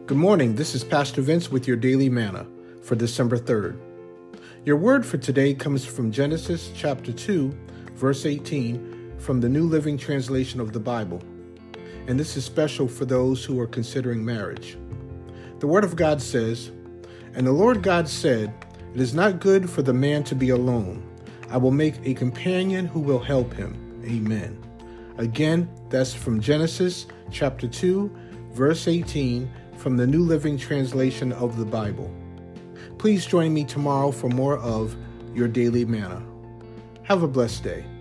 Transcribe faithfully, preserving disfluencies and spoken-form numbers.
Good morning. This is Pastor Vince with your Daily Manna for December third. Your word for today comes from Genesis chapter two, verse eighteen, from the New Living Translation of the Bible. And this is special for those who are considering marriage. The word of God says, "And the Lord God said, It is not good for the man to be alone. I will make a companion who will help him." Amen. Again, that's from Genesis chapter two, verse eighteen, from the New Living Translation of the Bible. Please join me tomorrow for more of your Daily Manna. Have a blessed day.